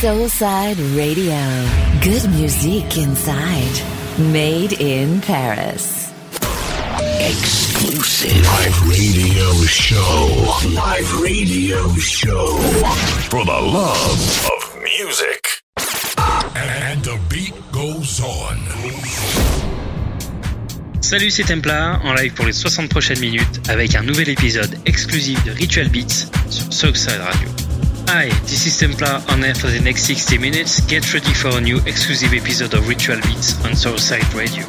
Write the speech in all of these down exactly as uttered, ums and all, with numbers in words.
Soulside Radio. Good music inside. Made in Paris. Exclusive live radio show. Live radio show. For the love of music. And the beat goes on. Salut, c'est Templar, en live pour les soixante prochaines minutes avec un nouvel épisode exclusif de Ritual Beats sur Soulside Radio. Hi, this is Templar on air for the next sixty minutes. Get ready for a new exclusive episode of Ritual Beats on Soulside Radio.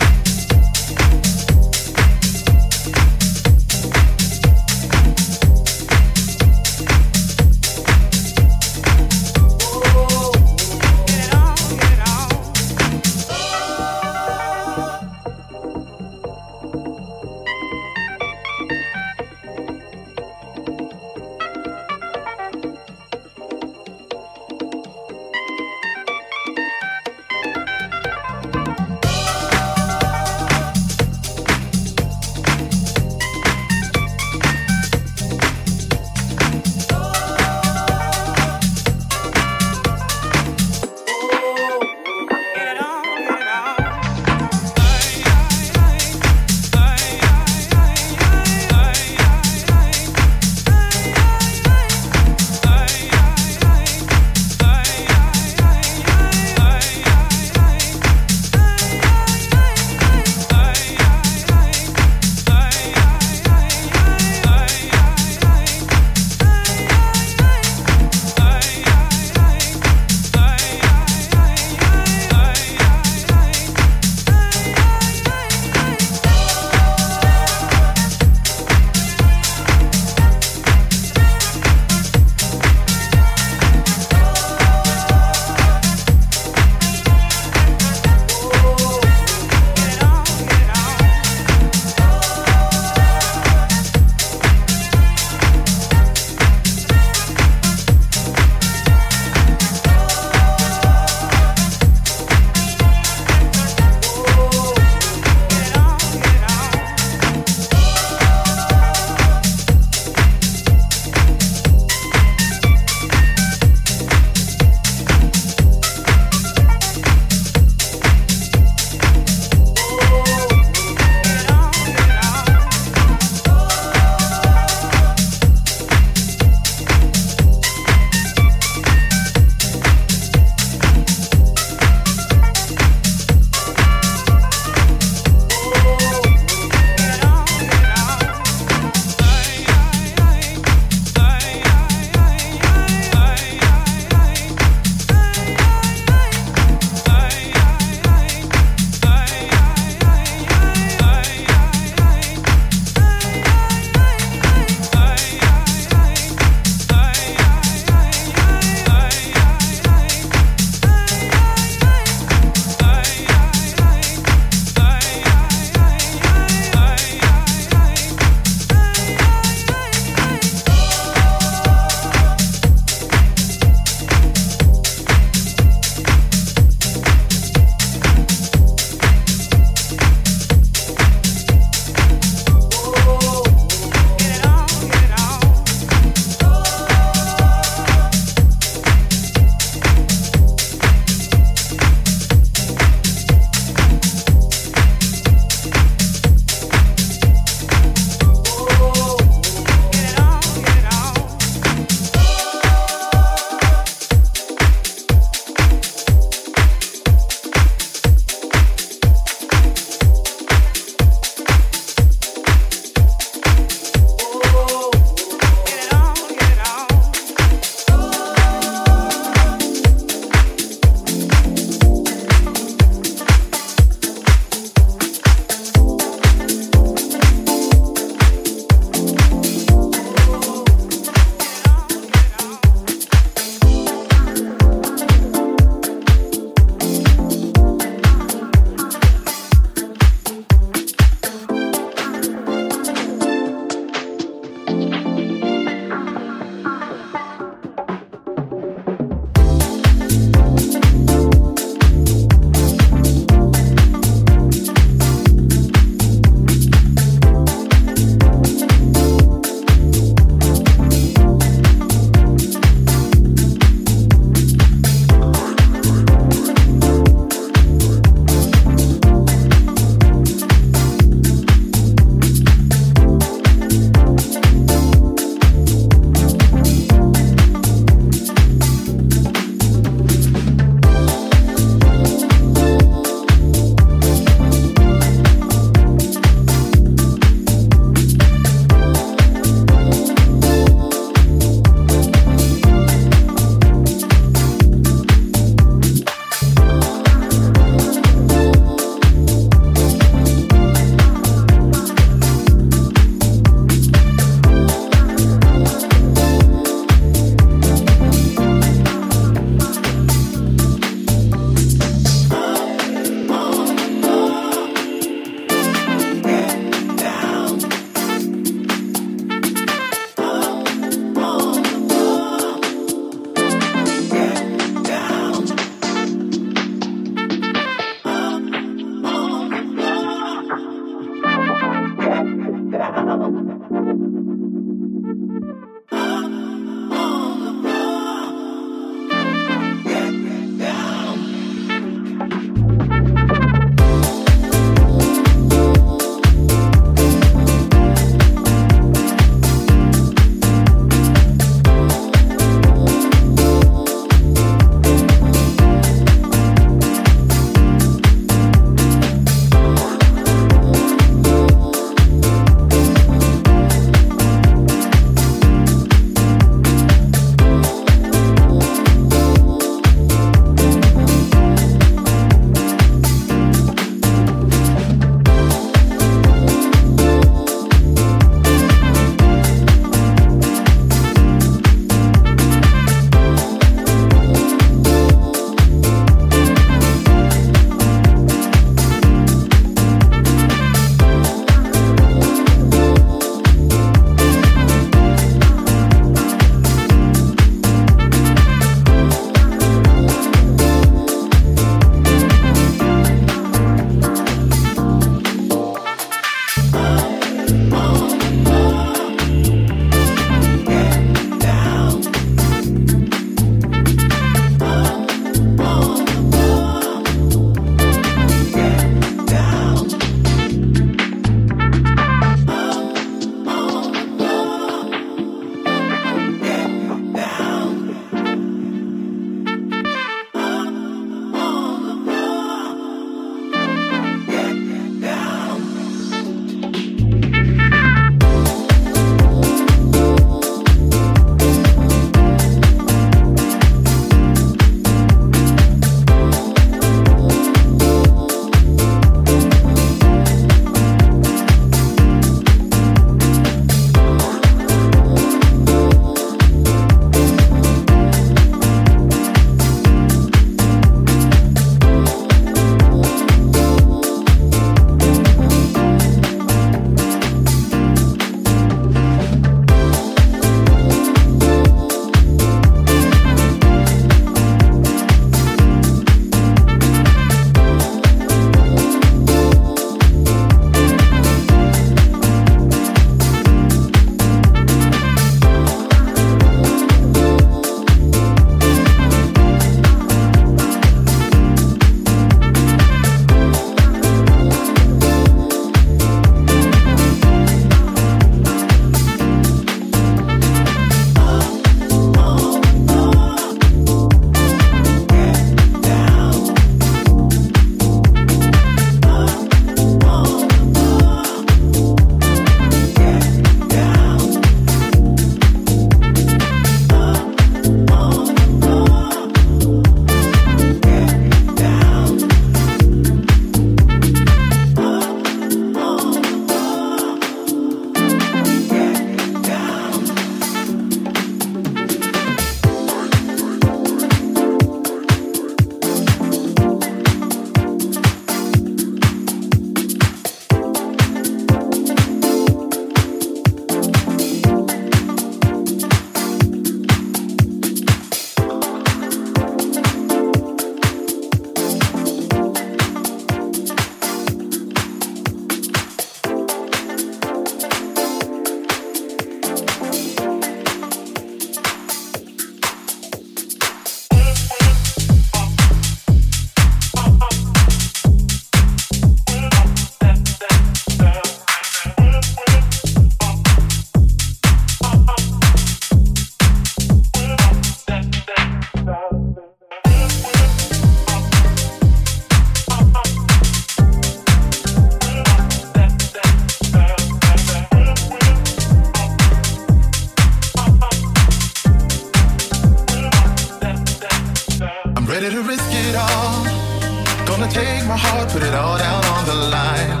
ready to risk it all. Gonna take my heart, put it all down on the line.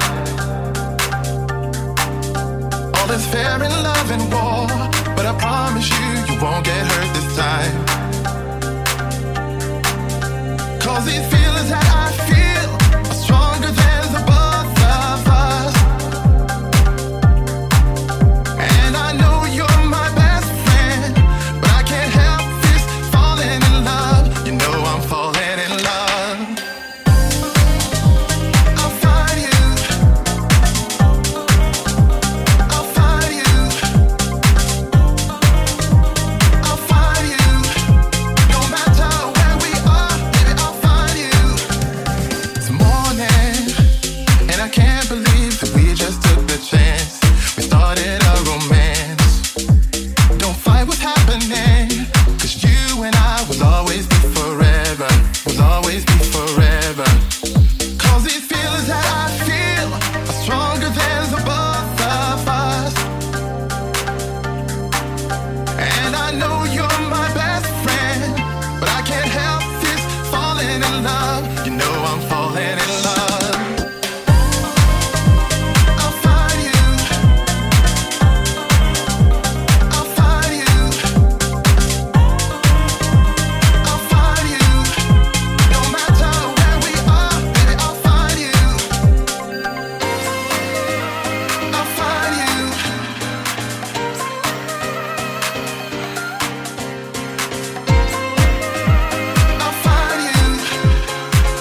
All is fair in love and war, but I promise you, you won't get hurt this time. Cause these feelings that I feel are stronger than the both of us. And I know you're my best friend, but I can't help this falling in love. You know I'm falling in love. I'll find you. I'll find you. I'll find you. No matter where we are, baby, I'll find you. It's morning, and I can't believe that we just took the chance. We started a romance. Don't fight what's happening, cause you and I will always be forever. Will always be forever. Cause these feelings that I feel are stronger than the both of us. And I know you're my best friend, but I can't help this falling in love. You know I'm falling in love. I'll find you. I'll find you. I'll find you. No matter where we are, baby, I'll find you. I'll find you. I'll find you.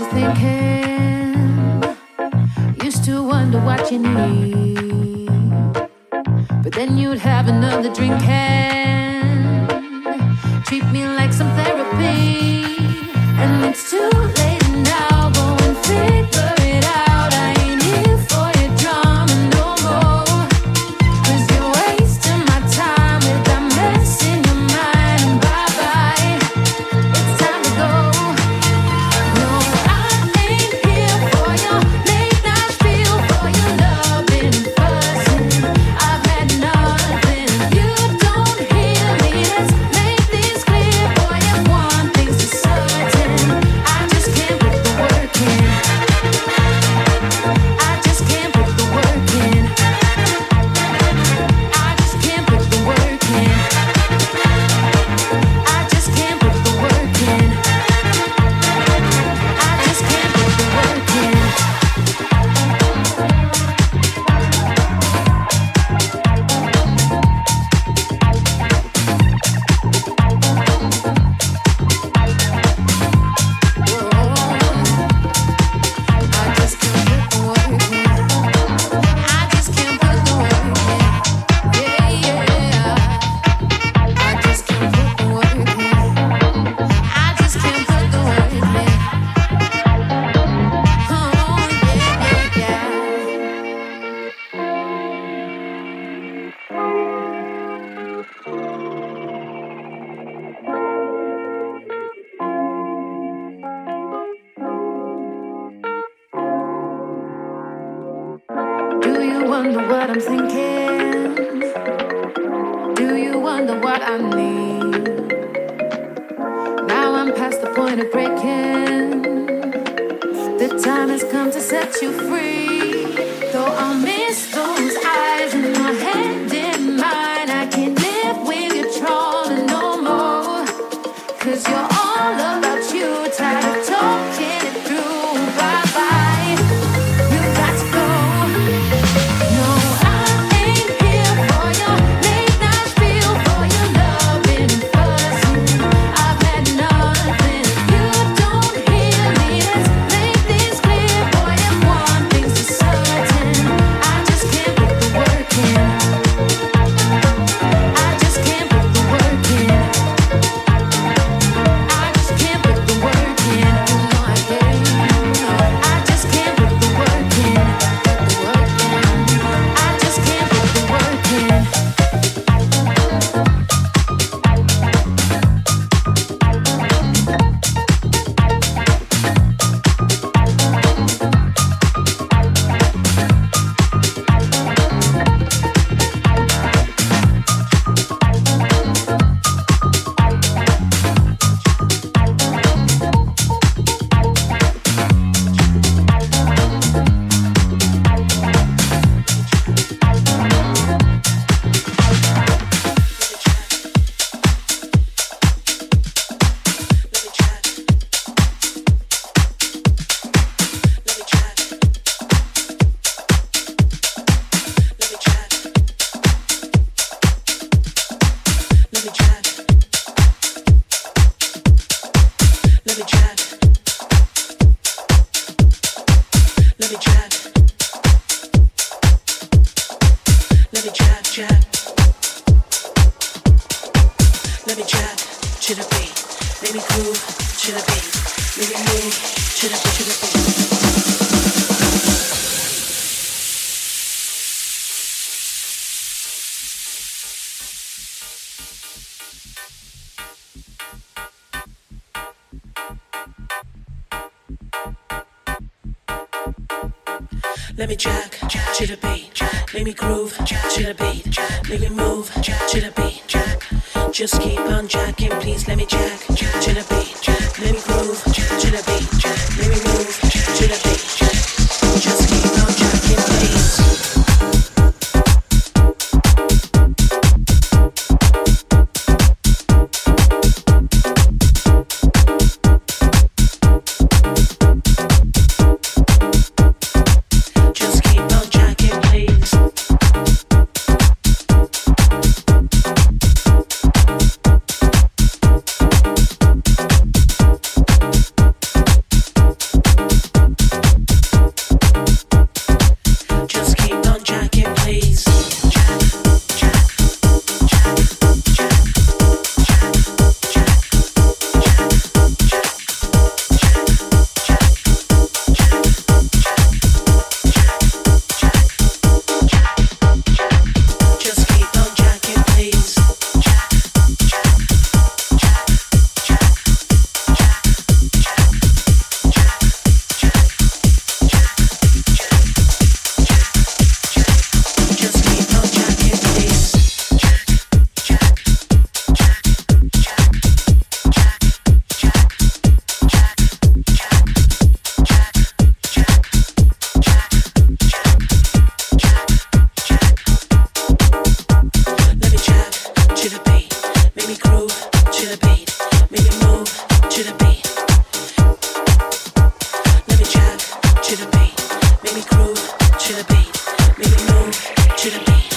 thinking. Used to wonder what you need, but then you'd have another drink and treat me like some therapy. And it's too late now, go and figure it out. I ain't here for your drama no more, 'cause you're wasting my time with that mess in your mind. And bye bye, it's time to go. No, I ain't here for your late night feel, for your loving and fussing. I've had nothing, you don't hear me. Let's make this clear, boy. If one thing's for certain, I just can't put the work in. I just can't put the work in. I just can't put the work in. I just can't put the work in. I just can't put the work in. I just can't put the work in. I just can't put the work in. Yeah, yeah. I just can't put the work in. I just can't put the work in. Oh, yeah, yeah, yeah. Do you wonder what I'm thinking? Do you wonder what I need? Now I'm past the point of breaking. The time has come to set you free. Though I'll miss those eyes and your hand in mine, I can't live with you trolling no more, 'cause you're all about you, tired of talking it through. Bye bye, you got to go. No, I ain't here for your late night feel, for your loving and fussing. I've had nothing, you don't hear me. Let's make this clear, boy. If one thing's for certain, I just can't put the work in. I just can't put the work in. I just can't put the work in. You know I can't. I just can't put the work in. The work in. I just can't put the work in. Let me jack to the beat. Let me groove to the beat. Let me move to the beat. Just keep on jacking, please. Let me jack to the beat. Let me groove to the beat. Let me move to the beat. Just keep on jacking, please. I the beat. Make me move to the beat. Let me jack to the beat. Make me groove to the beat. Make me move to the beat.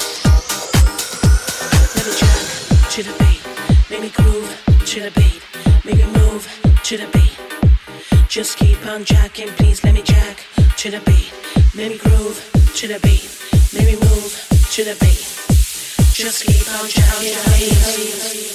Let me jack to the beat. Make me groove to the beat. Make me move to the beat. Just keep on jacking, please. Let me jack to the beat. Make me groove to the beat. Make me move to the beat. Just keep on jacking, please.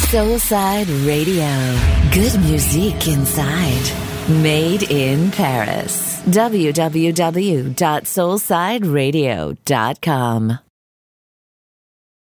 Soulside Radio. Good music inside. Made in Paris. w w w dot soulside radio dot com